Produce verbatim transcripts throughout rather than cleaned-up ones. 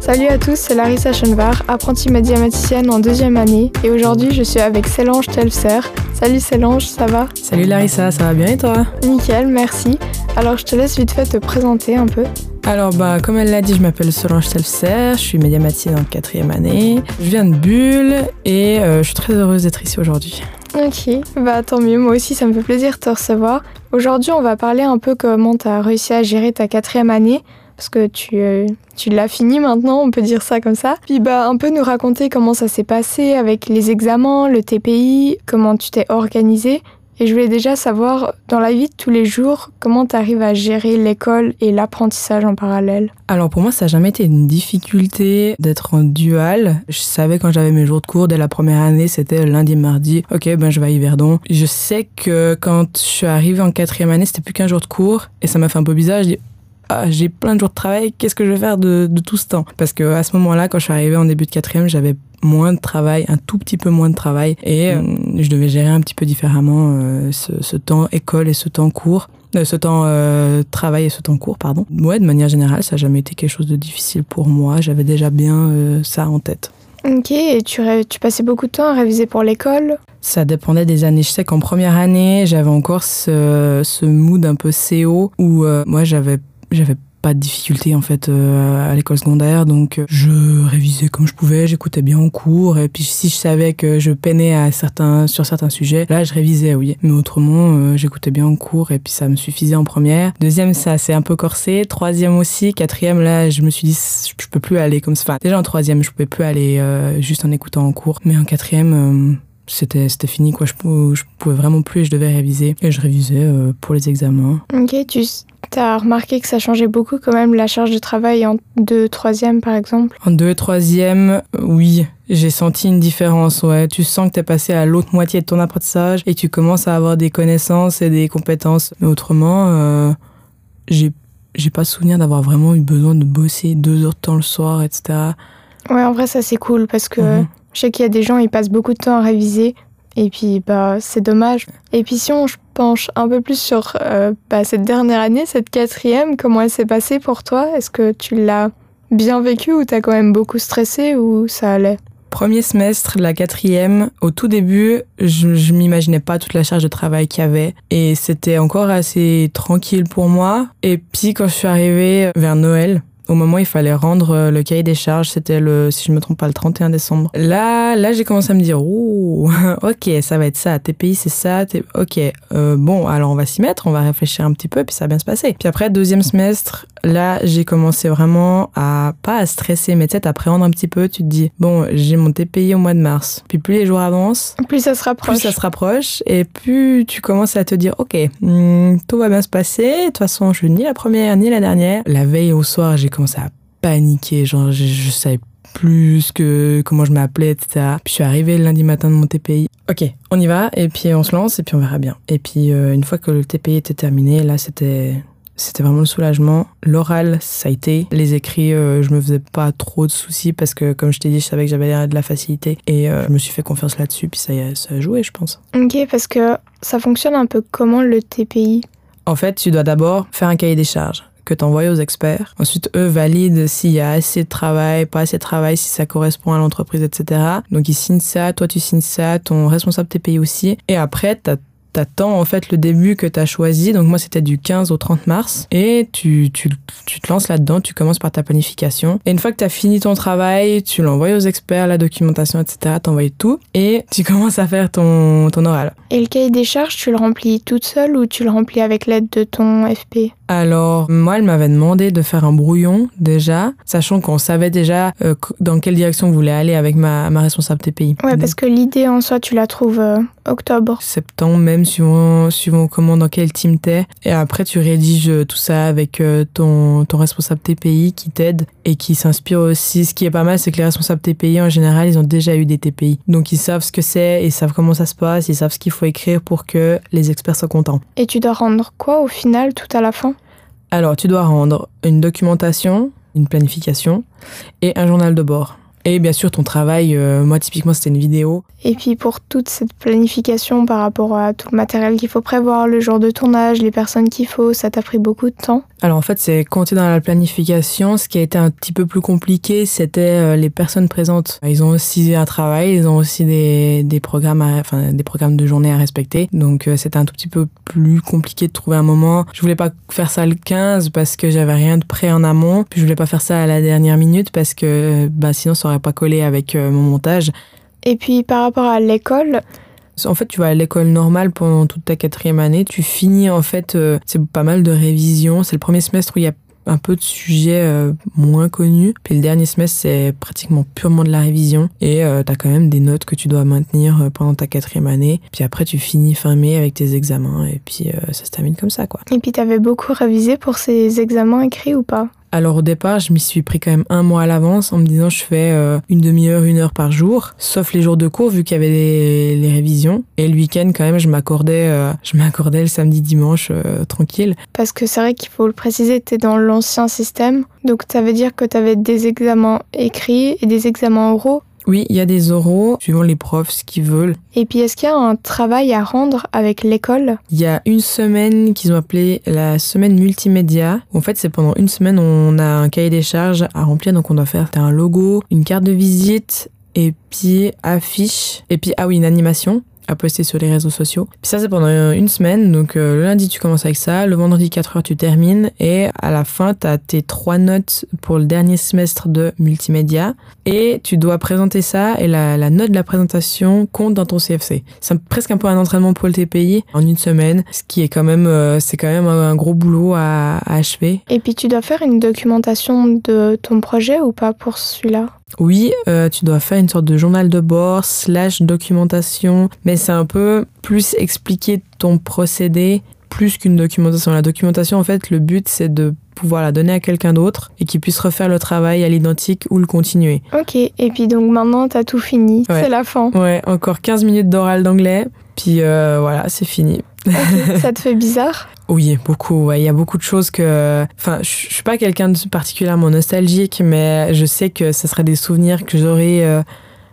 Salut à tous, c'est Larissa Schoenvar, apprentie mathématicienne en deuxième année et aujourd'hui je suis avec Solange Telfser. Salut Solange, ça va? Salut Larissa, ça va bien et toi? Nickel, merci. Alors je te laisse vite fait te présenter un peu. Alors bah comme elle l'a dit, je m'appelle Solange Telfser, je suis médiamaticienne en quatrième année. Je viens de Bulle et euh, je suis très heureuse d'être ici aujourd'hui. Ok, bah tant mieux, moi aussi ça me fait plaisir de te recevoir. Aujourd'hui on va parler un peu comment tu as réussi à gérer ta quatrième année. Parce que tu, euh, tu l'as fini maintenant, on peut dire ça comme ça. Puis bah un peu nous raconter comment ça s'est passé avec les examens, le T P I, comment tu t'es organisée. Et je voulais déjà savoir, dans la vie de tous les jours, comment tu arrives à gérer l'école et l'apprentissage en parallèle. Alors pour moi, ça n'a jamais été une difficulté d'être en dual. Je savais quand j'avais mes jours de cours dès la première année, c'était lundi, mardi. Ok, ben je vais à Yverdon. Je sais que quand je suis arrivée en quatrième année, c'était plus qu'un jour de cours. Et ça m'a fait un peu bizarre. Je dis, ah, j'ai plein de jours de travail, qu'est-ce que je vais faire de, de tout ce temps? Parce que à ce moment-là, quand je suis arrivée en début de quatrième, j'avais moins de travail, un tout petit peu moins de travail, et euh, je devais gérer un petit peu différemment euh, ce, ce temps école et ce temps cours, euh, ce temps euh, travail et ce temps cours, pardon. Ouais, de manière générale, ça n'a jamais été quelque chose de difficile pour moi, j'avais déjà bien euh, ça en tête. Ok, et tu, ré- tu passais beaucoup de temps à réviser pour l'école? Ça dépendait des années. Je sais qu'en première année, j'avais encore ce, ce mood un peu C O où euh, moi, j'avais J'avais pas de difficulté en fait euh, à l'école secondaire, donc euh, je révisais comme je pouvais, j'écoutais bien en cours, et puis si je savais que je peinais à certains, sur certains sujets, là je révisais, oui. Mais autrement, euh, j'écoutais bien en cours et puis ça me suffisait en première. Deuxième, ça s'est un peu corsé. Troisième aussi. Quatrième, là je me suis dit, je peux plus aller comme ça. Enfin, déjà en troisième, je pouvais plus aller euh, juste en écoutant en cours, mais en quatrième... Euh, C'était, c'était fini, quoi. Je, je pouvais vraiment plus et je devais réviser. Et je révisais euh, pour les examens. Ok, tu as remarqué que ça changeait beaucoup quand même la charge de travail en deux, troisième par exemple? En deux, troisième, oui. J'ai senti une différence, ouais. Tu sens que t'es passé à l'autre moitié de ton apprentissage et tu commences à avoir des connaissances et des compétences. Mais autrement, euh, j'ai, j'ai pas souvenir d'avoir vraiment eu besoin de bosser deux heures de temps le soir, et cetera. Ouais, en vrai, ça c'est cool parce que... Mm-hmm. Je sais qu'il y a des gens, ils passent beaucoup de temps à réviser et puis bah, c'est dommage. Et puis si on penche un peu plus sur euh, bah, cette dernière année, cette quatrième, comment elle s'est passée pour toi? Est-ce que tu l'as bien vécue ou t'as quand même beaucoup stressé ou ça allait? Premier semestre, la quatrième, au tout début, je, je m'imaginais pas toute la charge de travail qu'il y avait et c'était encore assez tranquille pour moi. Et puis quand je suis arrivée vers Noël, au moment où il fallait rendre le cahier des charges, c'était le, si je me trompe pas, le trente et un décembre. Là, là, j'ai commencé à me dire, oh, ok, ça va être ça, T P I, c'est ça, T... ok, euh, bon, alors on va s'y mettre, on va réfléchir un petit peu, puis ça va bien se passer. Puis après, deuxième semestre, là, j'ai commencé vraiment à, pas à stresser, mais tu sais, t'appréhender un petit peu, tu te dis, bon, j'ai mon T P I au mois de mars. Puis plus les jours avancent, plus ça se rapproche. Plus ça se rapproche, et plus tu commences à te dire, ok, hmm, tout va bien se passer, de toute façon, je suis ni la première, ni la dernière. La veille au soir, j'ai commencé à paniquer, genre je, je savais plus que comment je m'appelais, et cetera. Puis je suis arrivée le lundi matin de mon T P I. Ok, on y va, et puis on se lance, et puis on verra bien. Et puis euh, une fois que le T P I était terminé, là c'était... C'était vraiment le soulagement. L'oral, ça a été. Les écrits, euh, je me faisais pas trop de soucis parce que, comme je t'ai dit, je savais que j'avais de la facilité. Et euh, je me suis fait confiance là-dessus, puis ça, ça a joué, je pense. Ok, parce que ça fonctionne un peu comment le T P I? En fait, tu dois d'abord faire un cahier des charges que tu envoies aux experts. Ensuite, eux valident s'il y a assez de travail, pas assez de travail, si ça correspond à l'entreprise, et cetera. Donc, ils signent ça, toi, tu signes ça, ton responsable T P I aussi. Et après, t'as T'attends en fait le début que t'as choisi, donc moi c'était du quinze au trente mars, et tu, tu, tu te lances là-dedans, tu commences par ta planification, et une fois que t'as fini ton travail, tu l'envoies aux experts, la documentation, et cetera, t'envoies tout, et tu commences à faire ton, ton oral. Et le cahier des charges, tu le remplis toute seule ou tu le remplis avec l'aide de ton F P? Alors, moi, elle m'avait demandé de faire un brouillon, déjà, sachant qu'on savait déjà euh, dans quelle direction on voulait aller avec ma, ma responsable T P I. Ouais, parce que l'idée, en soi, tu la trouves euh, octobre. Septembre, même, suivant, suivant comment, dans quel team t'es. Et après, tu rédiges tout ça avec euh, ton, ton responsable T P I qui t'aide et qui s'inspire aussi. Ce qui est pas mal, c'est que les responsables T P I, en général, ils ont déjà eu des T P I. Donc, ils savent ce que c'est, ils savent comment ça se passe, ils savent ce qu'il faut écrire pour que les experts soient contents. Et tu dois rendre quoi, au final, tout à la fin? Alors, tu dois rendre une documentation, une planification et un journal de bord. Et bien sûr, ton travail, euh, moi typiquement c'était une vidéo. Et puis pour toute cette planification par rapport à tout le matériel qu'il faut prévoir, le jour de tournage, les personnes qu'il faut, ça t'a pris beaucoup de temps? Alors en fait, c'est quand tu es dans la planification, ce qui a été un petit peu plus compliqué, c'était euh, les personnes présentes. Ils ont aussi un travail, ils ont aussi des, des, programmes, à, enfin, des programmes de journée à respecter. Donc euh, c'était un tout petit peu plus compliqué de trouver un moment. Je voulais pas faire ça le quinze parce que j'avais rien de prêt en amont. Puis je voulais pas faire ça à la dernière minute parce que bah, sinon ça aurait pas collé avec euh, mon montage. Et puis par rapport à l'école, en fait, tu vas à l'école normale pendant toute ta quatrième année. Tu finis, en fait, euh, c'est pas mal de révisions. C'est le premier semestre où il y a un peu de sujets euh, moins connus. Puis le dernier semestre, c'est pratiquement purement de la révision. Et euh, t'as quand même des notes que tu dois maintenir euh, pendant ta quatrième année. Puis après, tu finis fin mai avec tes examens. Et puis euh, ça se termine comme ça, quoi. Et puis t'avais beaucoup révisé pour ces examens écrits ou pas? Alors au départ, je m'y suis pris quand même un mois à l'avance en me disant je fais euh, une demi-heure, une heure par jour, sauf les jours de cours vu qu'il y avait les, les révisions. Et le week-end quand même, je m'accordais, euh, je m'accordais le samedi, dimanche euh, tranquille. Parce que c'est vrai qu'il faut le préciser, t'es dans l'ancien système, donc ça veut dire que t'avais des examens écrits et des examens oraux. Oui, il y a des oraux, suivant les profs, ce qu'ils veulent. Et puis, est-ce qu'il y a un travail à rendre avec l'école? Il y a une semaine qu'ils ont appelée la semaine multimédia. En fait, c'est pendant une semaine, on a un cahier des charges à remplir. Donc, on doit faire un logo, une carte de visite, et puis affiche, et puis, ah oui, une animation à poster sur les réseaux sociaux. Puis ça, c'est pendant une semaine. Donc, euh, le lundi, tu commences avec ça. Le vendredi, quatre heures, tu termines. Et à la fin, tu as tes trois notes pour le dernier semestre de multimédia. Et tu dois présenter ça. Et la, la note de la présentation compte dans ton C F C. C'est presque un peu un entraînement pour le T P I en une semaine. Ce qui est quand même, euh, c'est quand même un, un gros boulot à, à achever. Et puis, tu dois faire une documentation de ton projet ou pas pour celui-là? Oui, euh, tu dois faire une sorte de journal de bord slash documentation, mais c'est un peu plus expliquer ton procédé plus qu'une documentation. La documentation, en fait, le but, c'est de pouvoir la donner à quelqu'un d'autre et qu'il puisse refaire le travail à l'identique ou le continuer. Ok, et puis donc maintenant, t'as tout fini, ouais. C'est la fin. Ouais, encore quinze minutes d'oral d'anglais, puis euh, voilà, c'est fini. Okay. Ça te fait bizarre? Oui, beaucoup. Il ouais. y a beaucoup de choses que... Enfin, je suis pas quelqu'un de particulièrement nostalgique, mais je sais que ce seraient des souvenirs que j'aurai euh,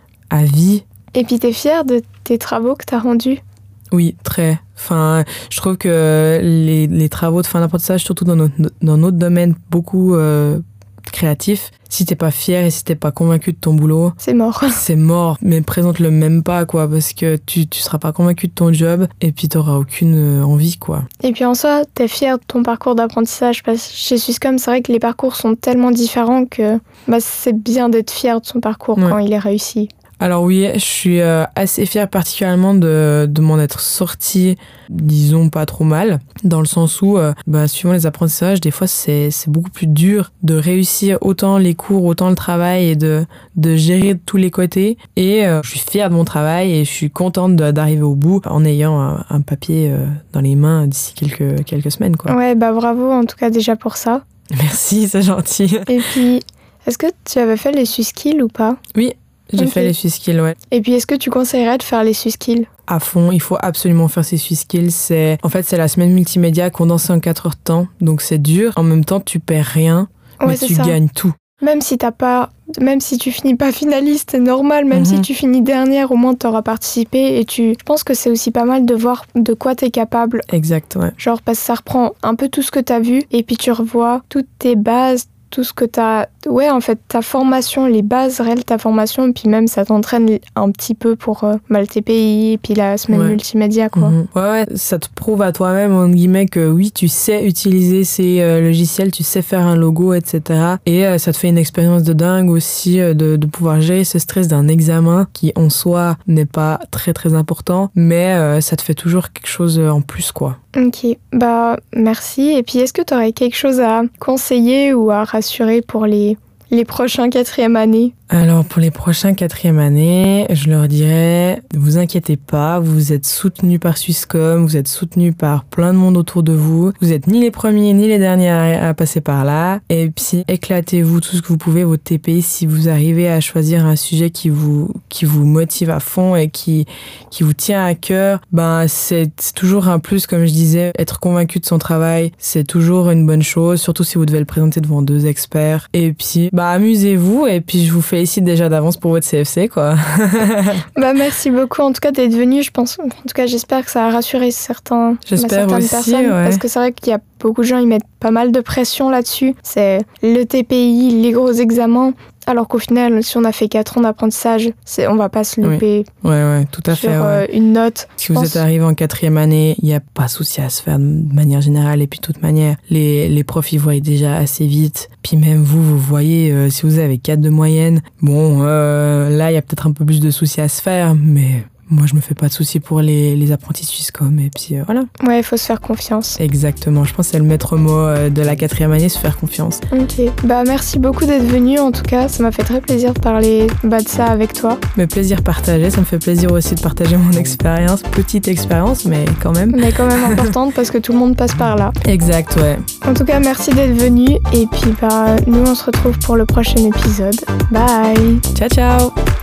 à vie. Et puis, t'es fière de tes travaux que t'as rendus? Oui, très. Enfin, je trouve que les, les travaux de fin d'apprentissage, surtout dans notre, dans notre domaine beaucoup euh, créatif, si t'es pas fier et si t'es pas convaincu de ton boulot, c'est mort. C'est mort, mais présente-le même pas, quoi, parce que tu, tu seras pas convaincu de ton job et puis t'auras aucune envie, quoi. Et puis en soi, t'es fier de ton parcours d'apprentissage, parce que chez Swisscom, c'est vrai que les parcours sont tellement différents que bah, c'est bien d'être fier de son parcours ouais. quand il est réussi. Alors oui, je suis euh, assez fière particulièrement de, de m'en être sortie, disons, pas trop mal, dans le sens où, euh, bah, suivant les apprentissages, des fois, c'est, c'est beaucoup plus dur de réussir autant les cours, autant le travail et de, de gérer de tous les côtés. Et euh, je suis fière de mon travail et je suis contente de, d'arriver au bout en ayant un, un papier euh, dans les mains d'ici quelques, quelques semaines, quoi. Ouais, bah bravo en tout cas déjà pour ça. Merci, c'est gentil. Et puis, est-ce que tu avais fait les Swisskills ou pas? Oui. J'ai okay. fait les Swisskills, ouais. Et puis, est-ce que tu conseillerais de faire les Swisskills? À fond, il faut absolument faire ces Swisskills. C'est, en fait, c'est la semaine multimédia condensée en quatre heures de temps, donc c'est dur. En même temps, tu perds rien, ouais, mais tu ça. gagnes tout. Même si t'as pas, même si tu finis pas finaliste, c'est normal. Même mm-hmm. si tu finis dernière, au moins t'auras participé. Et tu, je pense que c'est aussi pas mal de voir de quoi t'es capable. Exact, ouais. Genre parce que ça reprend un peu tout ce que t'as vu, et puis tu revois toutes tes bases. Tout ce que t'as... Ouais, en fait, ta formation, les bases réelles de ta formation, et puis même, ça t'entraîne un petit peu pour euh, mal T P I, et puis la semaine ouais. multimédia, quoi. Mmh. Ouais, ouais, ça te prouve à toi-même, entre guillemets, que oui, tu sais utiliser ces euh, logiciels, tu sais faire un logo, et cetera. Et euh, ça te fait une expérience de dingue aussi, euh, de, de pouvoir gérer ce stress d'un examen, qui en soi n'est pas très, très important, mais euh, ça te fait toujours quelque chose en plus, quoi. Ok, bah merci. Et puis est-ce que tu aurais quelque chose à conseiller ou à rassurer pour les, les prochains quatrième années? Alors pour les prochains quatrième années, je leur dirais, ne vous inquiétez pas, vous êtes soutenus par Swisscom, vous êtes soutenus par plein de monde autour de vous. Vous êtes ni les premiers ni les derniers à, à passer par là. Et puis éclatez-vous tout ce que vous pouvez, votre T P I, si vous arrivez à choisir un sujet qui vous qui vous motive à fond et qui qui vous tient à cœur. Ben c'est, c'est toujours un plus, comme je disais, être convaincu de son travail, c'est toujours une bonne chose, surtout si vous devez le présenter devant deux experts. Et puis bah amusez-vous et puis je vous fais félicite déjà d'avance pour votre C F C, quoi. Bah, merci beaucoup en tout cas d'être venu. Je pense, en tout cas, j'espère que ça a rassuré certains, J'espère bah, certaines aussi, personnes. ouais. Parce que c'est vrai qu'il y a beaucoup de gens, ils mettent pas mal de pression là-dessus. C'est le T P I, les gros examens. Alors qu'au final, si on a fait quatre ans d'apprentissage, c'est, on va pas se louper oui. ouais, ouais, tout à sur fait, ouais. euh, une note. Si vous pense... êtes arrivé en quatrième année, il n'y a pas de souci à se faire de manière générale. Et puis de toute manière, les, les profs, ils voient déjà assez vite. Puis même vous, vous voyez, euh, si vous avez quatre de moyenne, bon, euh, là, il y a peut-être un peu plus de soucis à se faire, mais... Moi, je me fais pas de soucis pour les, les apprentis Swisscom, et puis euh, voilà. Ouais, il faut se faire confiance. Exactement, je pense que c'est le maître mot euh, de la quatrième année, se faire confiance. Ok, bah merci beaucoup d'être venu, en tout cas, ça m'a fait très plaisir de parler bah, de ça avec toi. Mais plaisir partagé, ça me fait plaisir aussi de partager mon expérience, petite expérience, mais quand même. Mais quand même importante, parce que tout le monde passe par là. Exact, ouais. En tout cas, merci d'être venu, et puis bah, nous, on se retrouve pour le prochain épisode. Bye. Ciao, ciao.